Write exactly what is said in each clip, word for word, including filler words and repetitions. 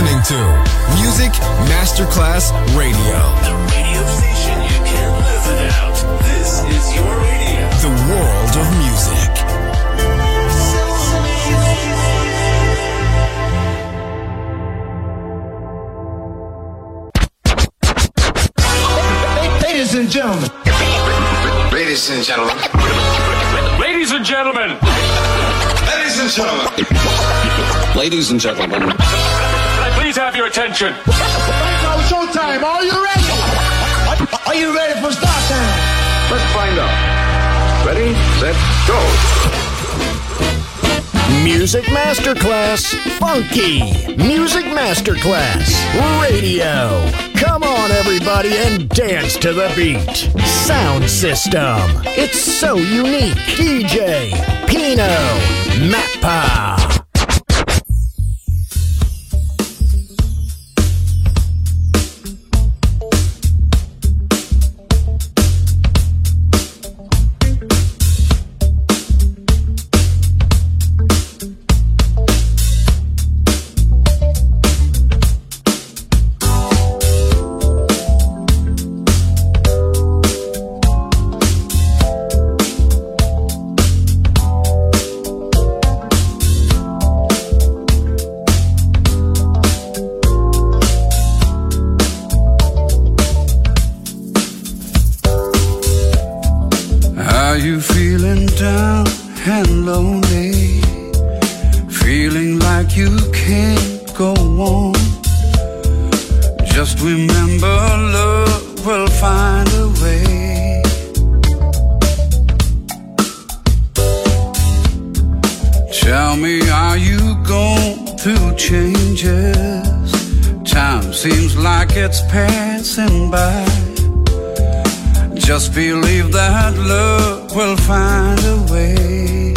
listening to Music Masterclass Radio. The radio station you can't live without. This is your radio. The world of music. Ladies and gentlemen. Ladies and gentlemen. Ladies and gentlemen. Ladies and gentlemen. Ladies and gentlemen. Can I please have your attention? Now showtime. Are you ready? Are you ready for start time? Let's find out. Ready, set, go. Music Masterclass Funky. Music Masterclass Radio. Come on, everybody, and dance to the beat. Sound system. It's so unique. D J Pino Mappa. Just believe that love will find a way.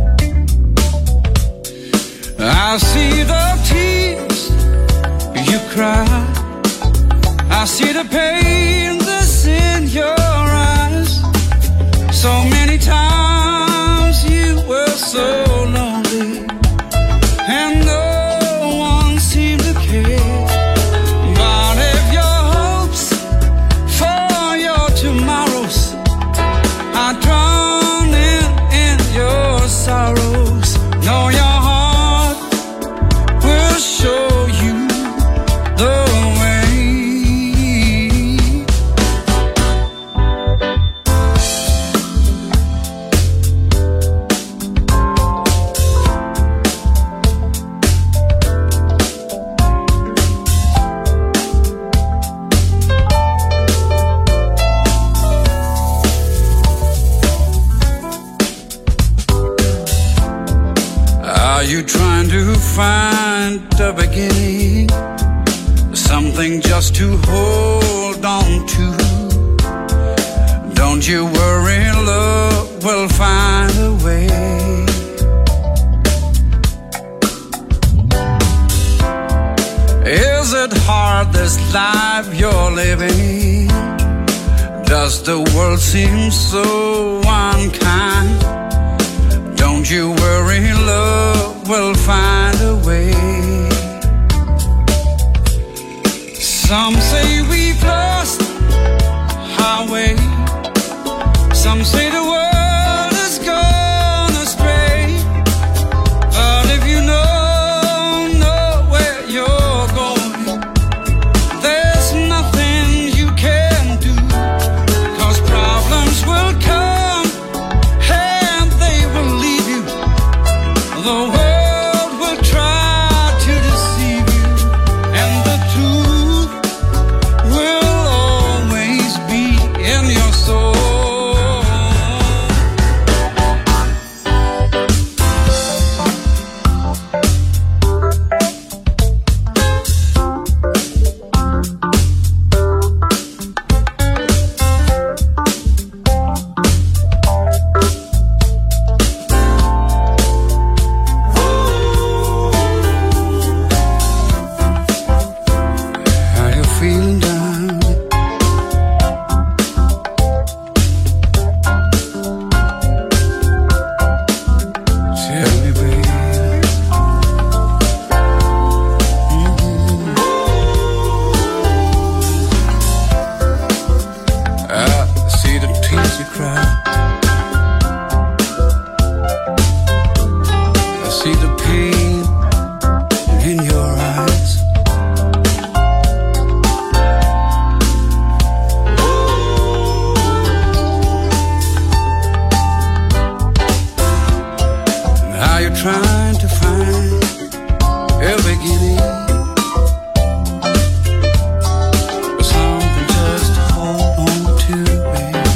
I see the tears you cry. I see the pain that's in your eyes. So many times you were so lonely and no one seemed to care. But if your hopes for your tomorrows are drowning in your sorrows, know your heart will show you the way. Are you trying to find the beginning? Something just to hold on to. Don't you worry, love will find a way. Is it hard, this life you're living? Does the world seem so unkind? Don't you worry, love will find a way. Some say we've lost our way. Some say the world has gone astray. But if you know, know where you're going, there's nothing you can do. 'Cause problems will come and they will leave you. The world will try to deceive you, and the truth see the pain in your eyes. How you're trying to find a beginning, but something just to hold on to, babe.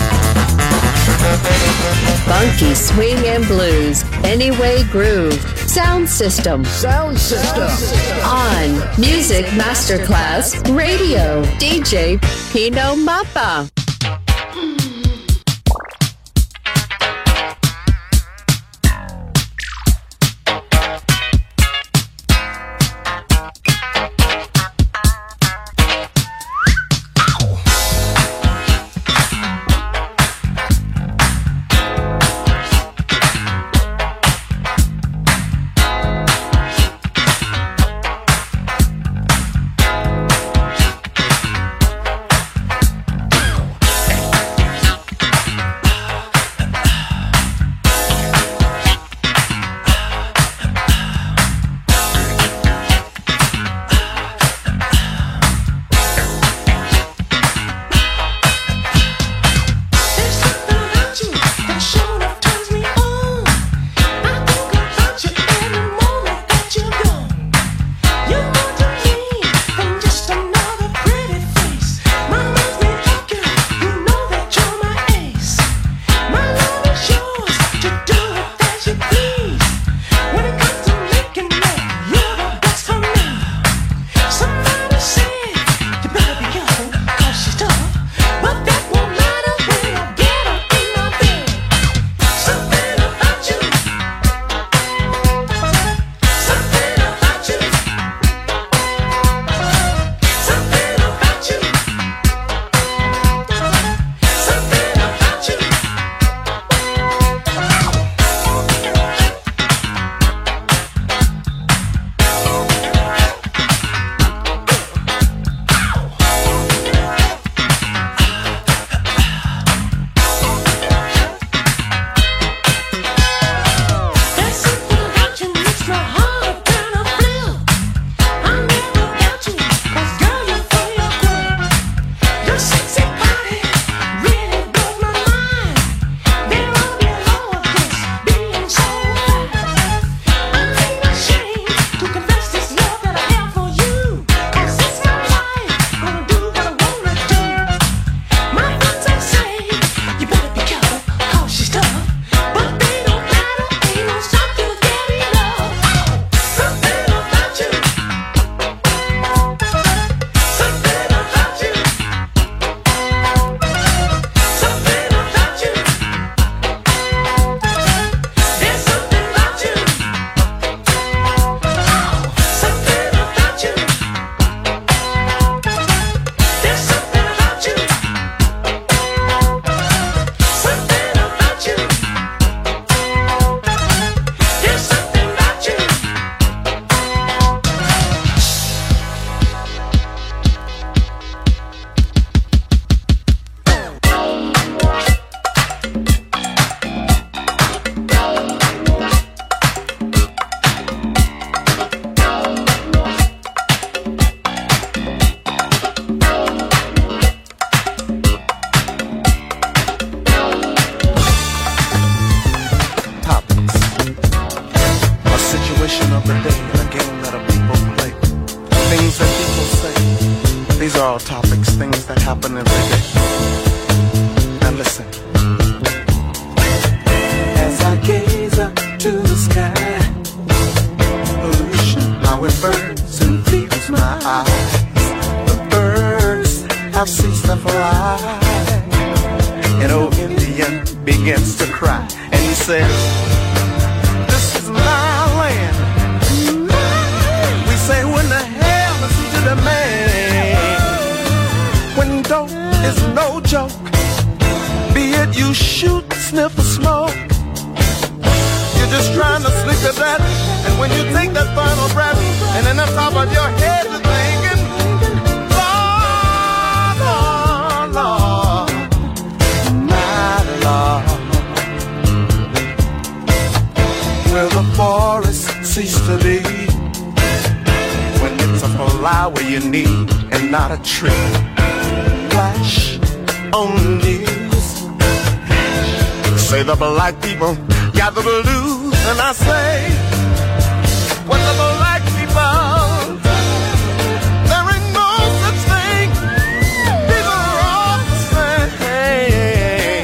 Funky swing and blues, Anyway Groove, Sound system. Sound system. On Music Masterclass Radio. D J Pino Mappa.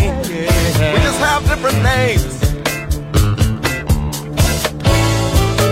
Different names.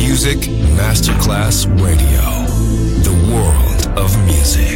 Music Masterclass Radio. The world of music.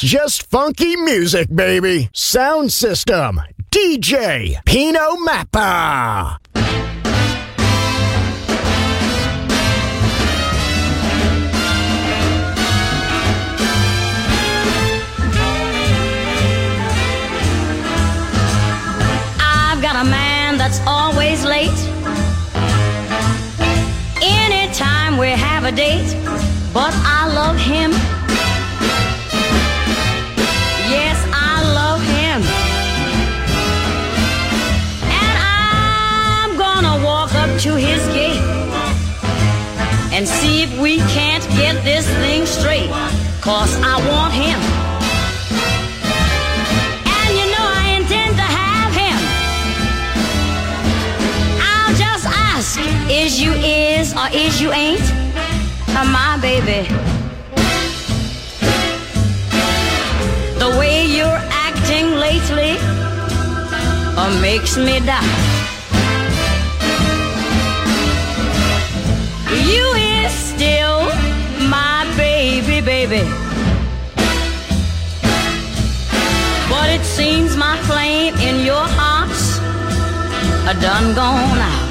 just funky music, baby. Sound system, D J Pino Mappa. I've got a man that's always late. Anytime we have a date, but I love him. Yes, I love him. And I'm gonna walk up to his gate and see if we can't get this thing straight, 'cause I want him. And you know I intend to have him. I'll just ask, is you is or is you ain't uh, my baby? The way you're acting lately uh, makes me doubt. You is still my baby, baby. But it seems my flame in your heart's a done gone out.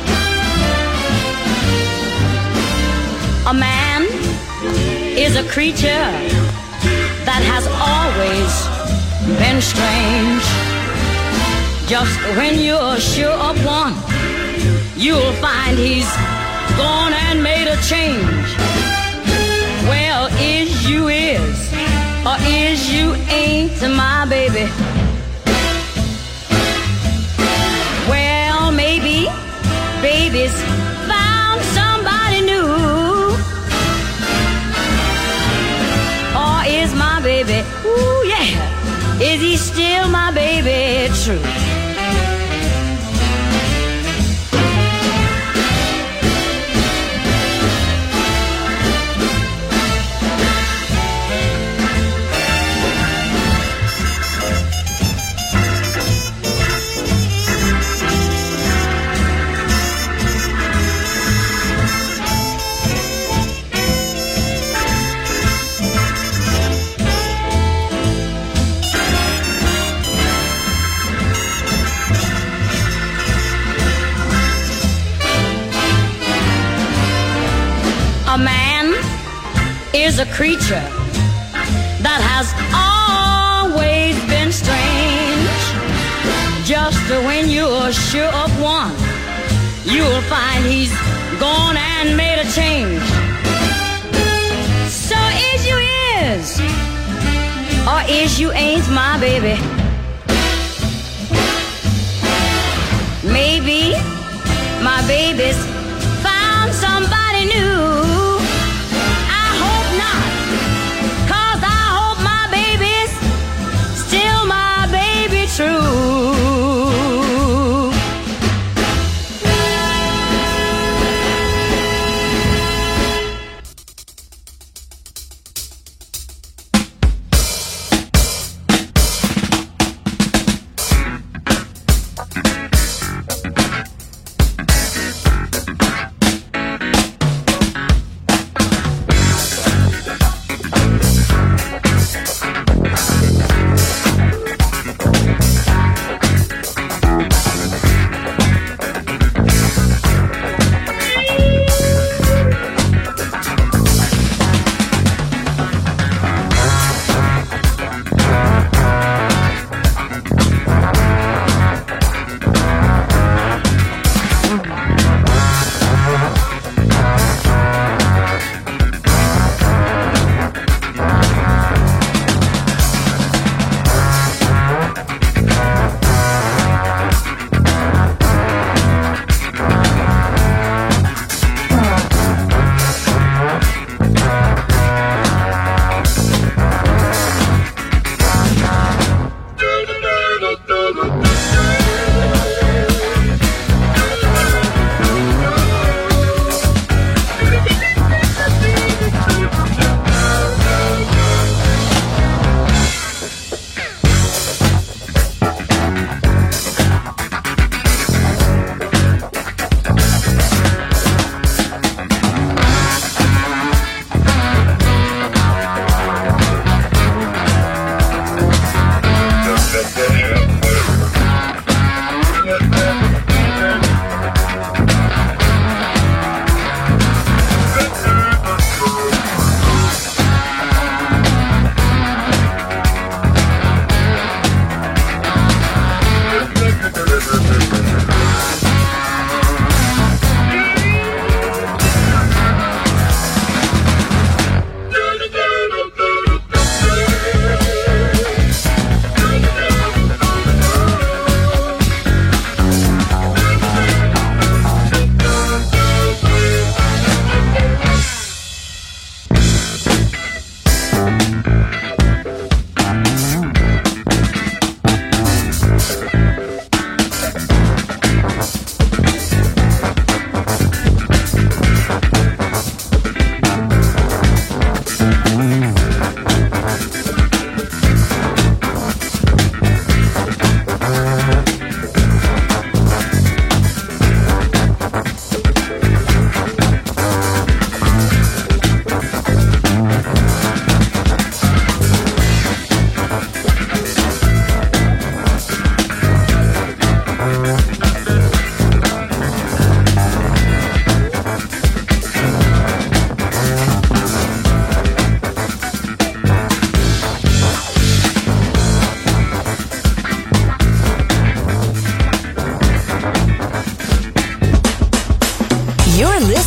A man is a creature that has always been strange. Just when you're sure of one, you'll find he's gone and made a change. Well, is you is, or is you ain't my baby? Well, maybe baby's found somebody new. Or is my baby, ooh yeah, is he still my baby true? A man is a creature that has always been strange. Just when you're sure of one, you'll find he's gone and made a change. So is you is, or is you ain't my baby? Maybe my baby's found somebody new.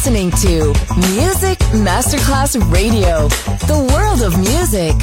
listening to Music Masterclass Radio, the world of music.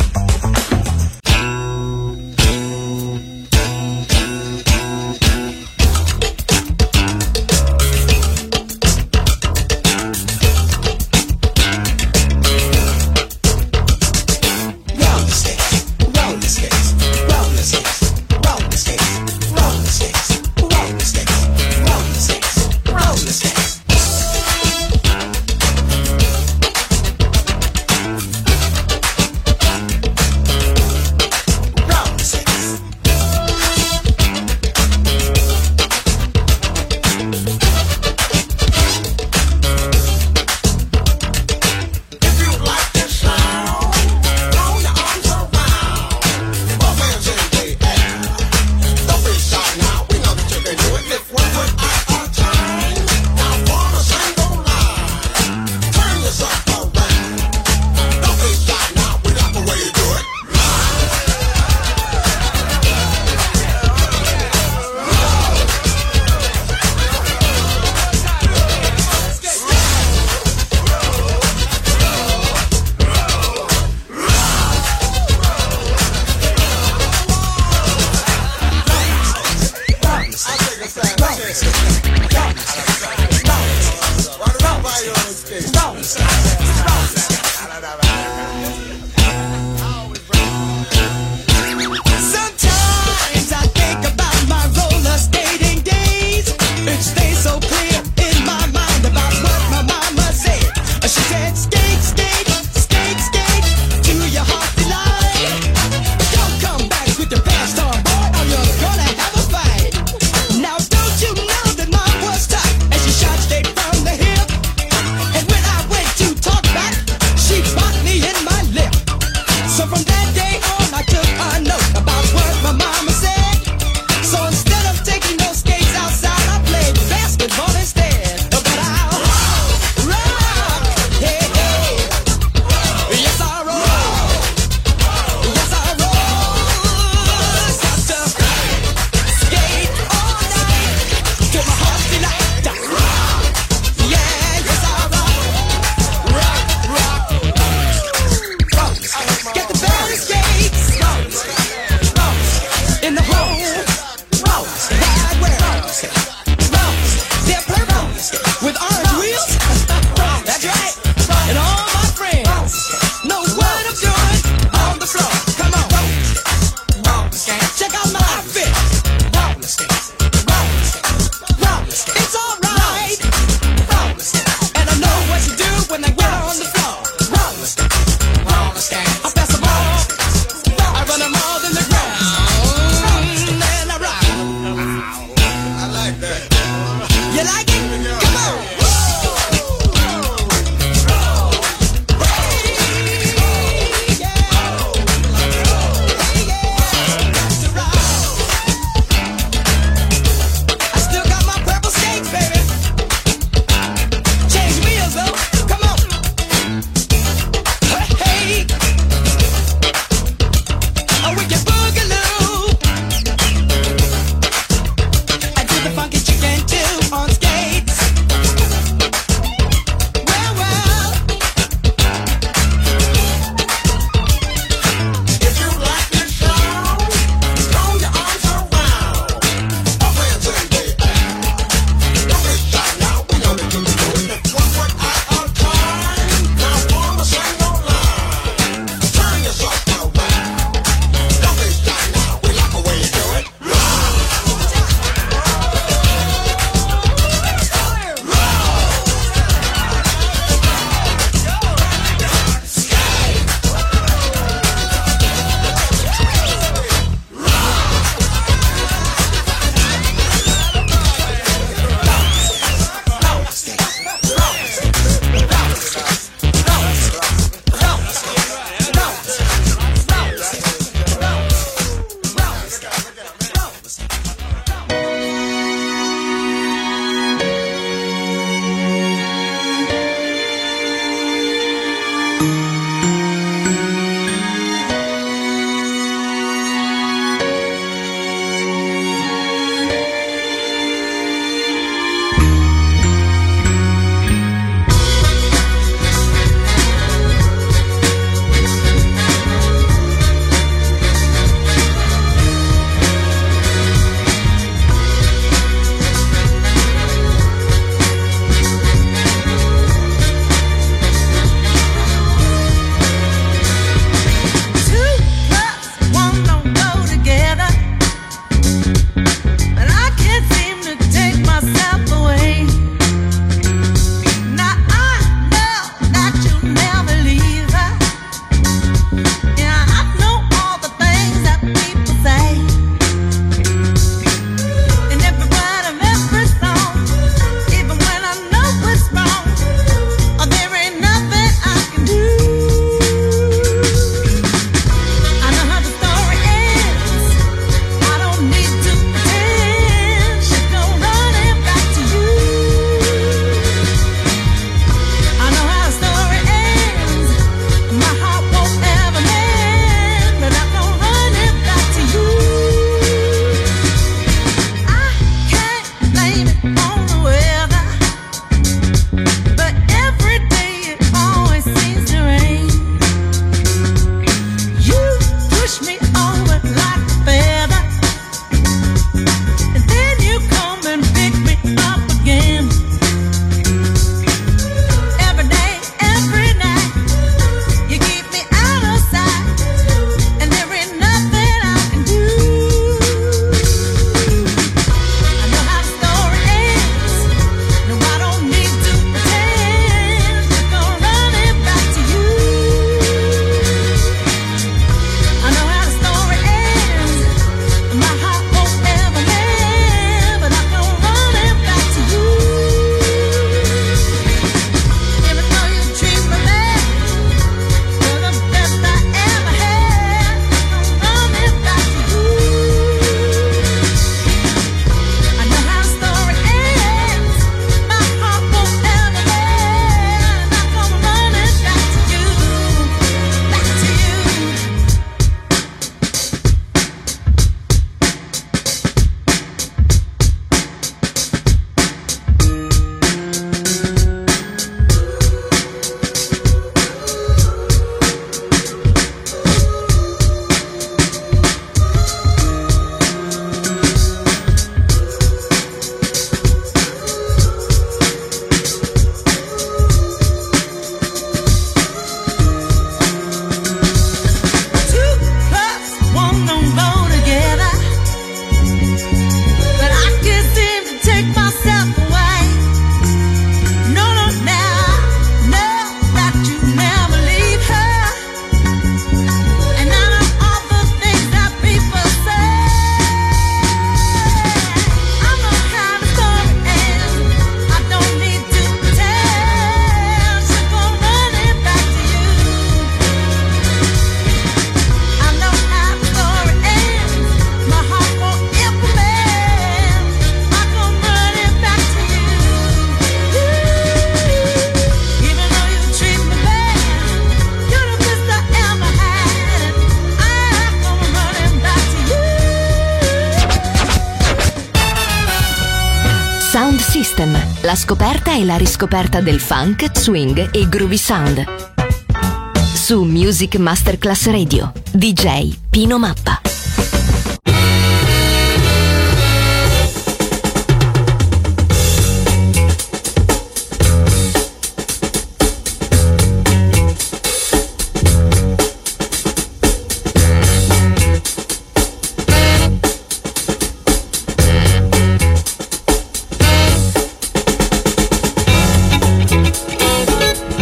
Sound System, la scoperta e la riscoperta del funk, swing e groovy sound. Su Music Masterclass Radio, D J Pino Mappa.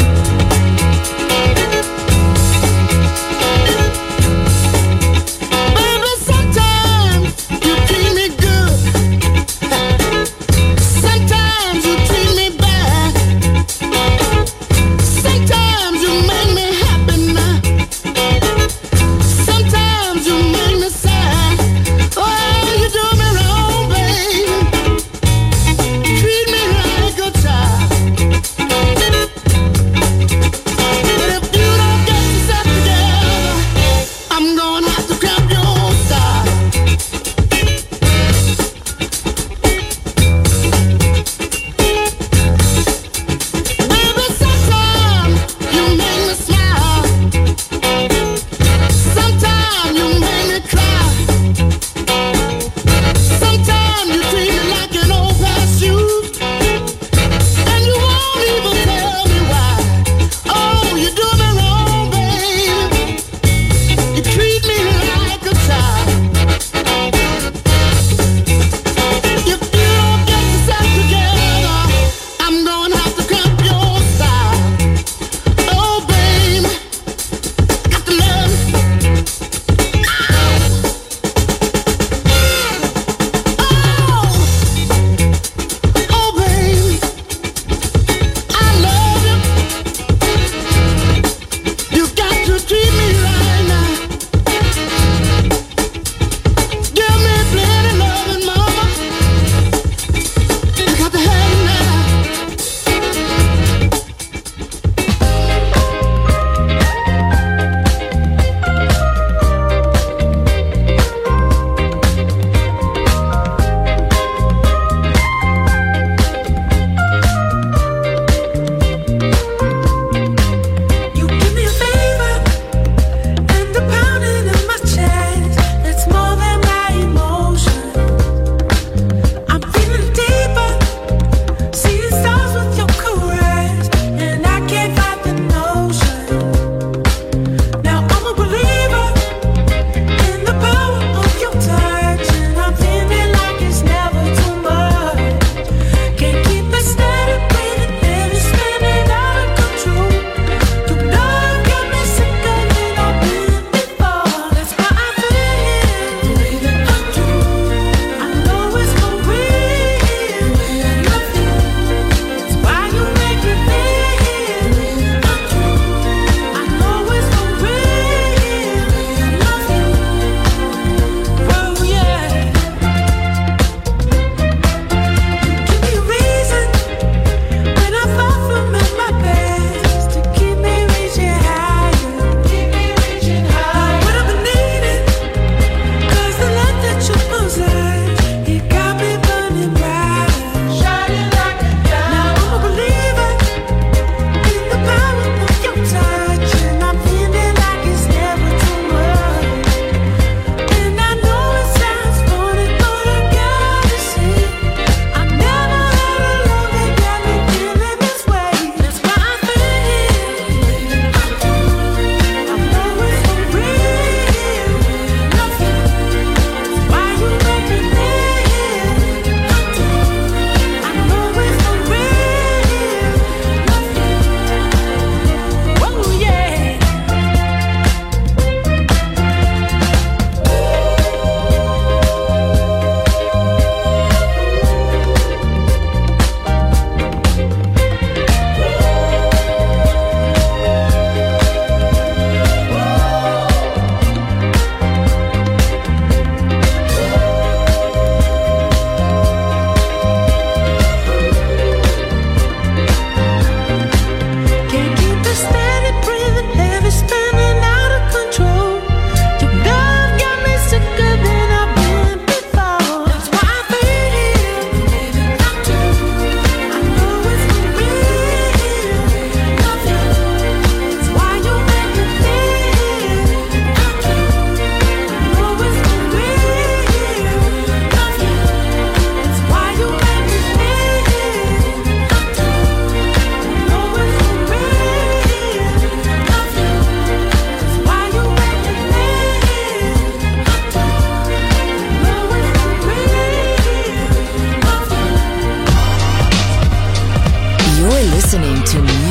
But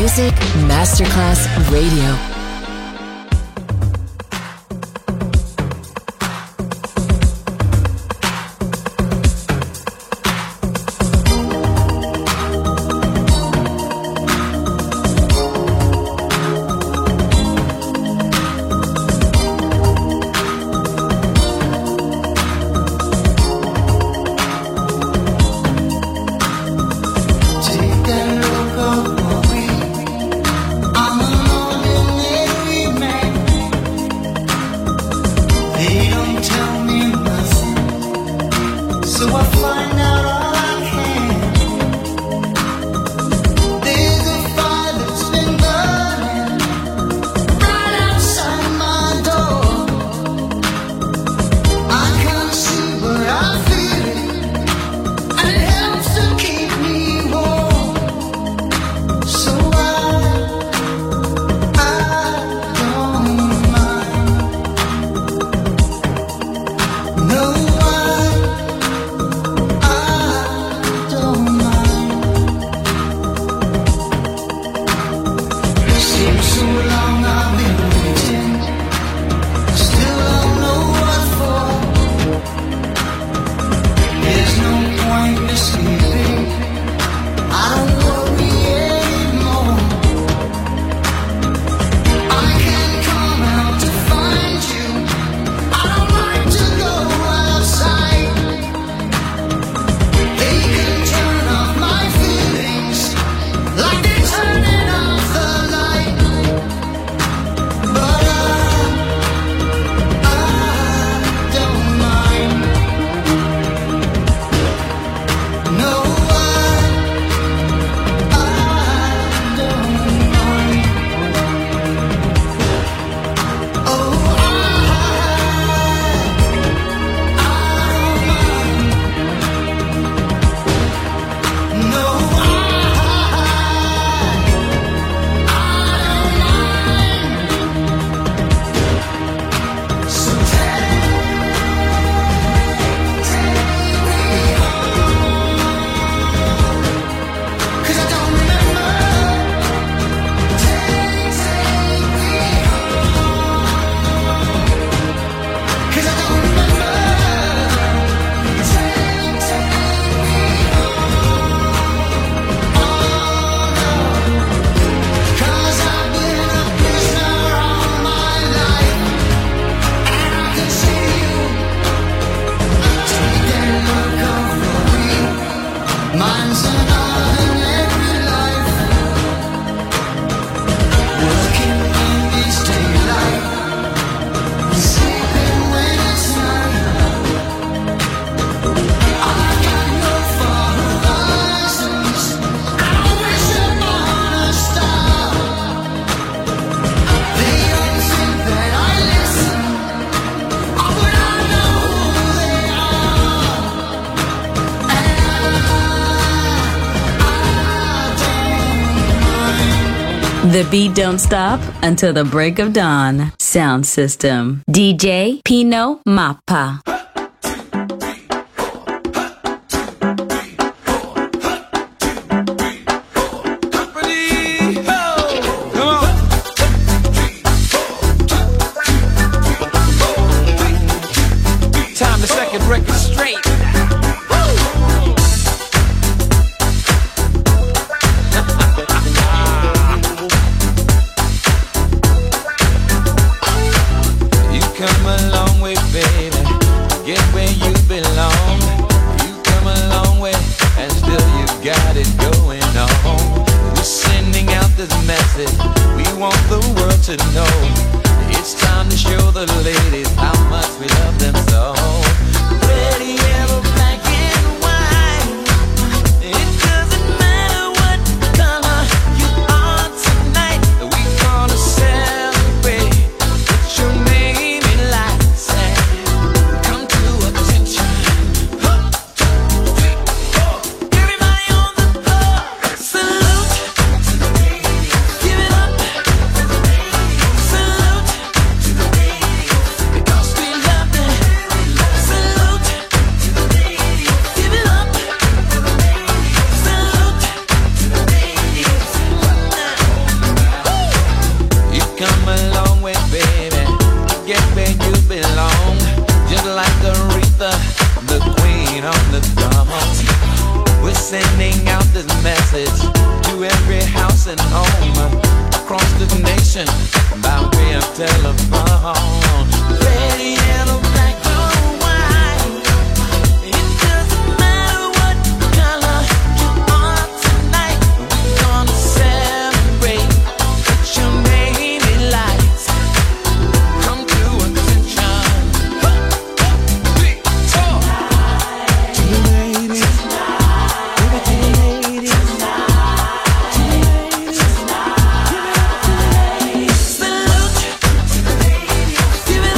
Music Masterclass Radio. The beat don't stop until the break of dawn. Sound system. D J Pino Mappa. Time to set the record straight. To know it's time to show the ladies how much we love them so. Pretty yellow, black and white. It doesn't matter what color you are tonight. We gonna celebrate. Put your name in lights and come to attention. One, two, three, four. Everybody on the floor, salute to the ladies. Give it up. sending out this message to every house and home across the nation by way of telephone. Red, yellow, black, or white, it doesn't matter what color you are tonight. We're gonna celebrate with your baby lights. Come to attention. To the ladies, give it to the ladies. Salute to the ladies, give it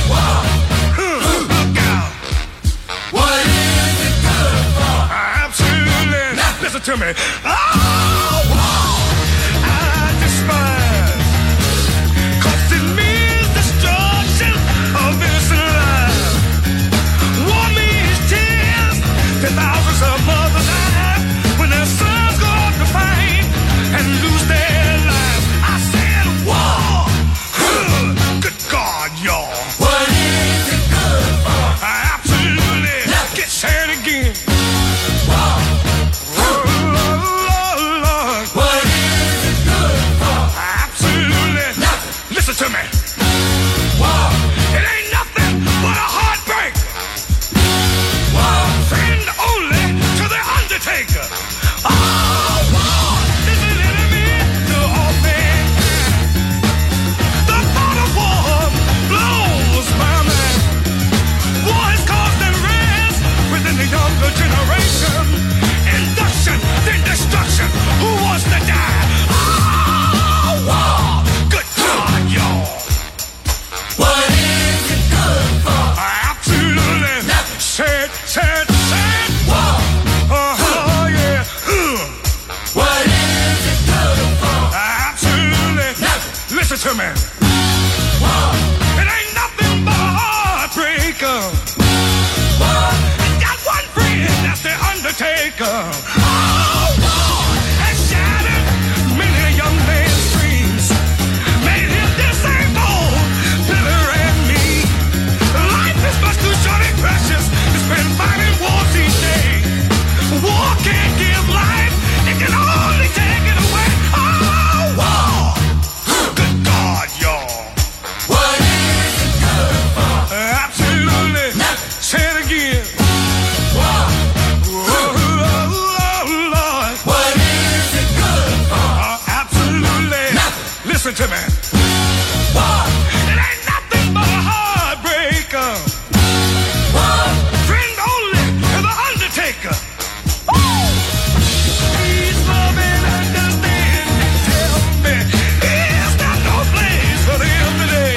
Look out. What is it good for? Absolutely. Listen to me. Oh, I despise. 'Cause it means destruction of innocent life. War means tears. Ten thousands of mothers die when their sons go out to fight and lose their lives. I said war. Good God, y'all. What is it good for? Absolutely. Get said again. War. What is it good for? Absolutely. Listen to me. War. It ain't nothing but a heartbreak. War. Friend only to the undertaker. Oh, war is an enemy to all mankind. The thought of war blows my mind. War has caused unrest within the younger generation. Induction, then destruction. Who wants to die? Oh, war. Good God, y'all. What is it good for? Absolutely. Said, said, said. War. Uh-huh, yeah. Ugh. What is it good for? Absolutely. Listen to me. War. It ain't nothing but a heartbreaker. War. Got one friend, that's the undertaker. Oh, war has shattered many a young man's dreams. Made him disabled, bitter and mean. Life is much too short and precious to spend fighting wars each day. War can't give life, it can only take it away. Oh, war. Good God, y'all. What is it good for? Absolutely. Say it again. War. Oh, Lord. What is it good for? Absolutely. Listen to me. War. It ain't nothing but a heartbreaker. War. Friend only to the undertaker. Please love and understand and tell me, is there no place for them today?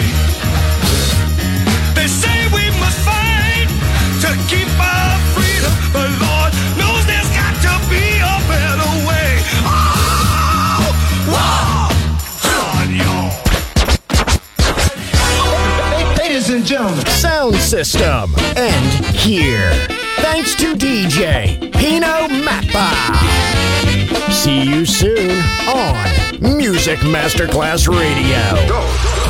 They say we must fight to keep our freedom, but Lord knows there's got to be a better way. Oh, wow, God, y'all. Ladies and gentlemen, sound system, and here. Thanks to D J Pino Mappa. See you soon on Music Masterclass Radio. Go.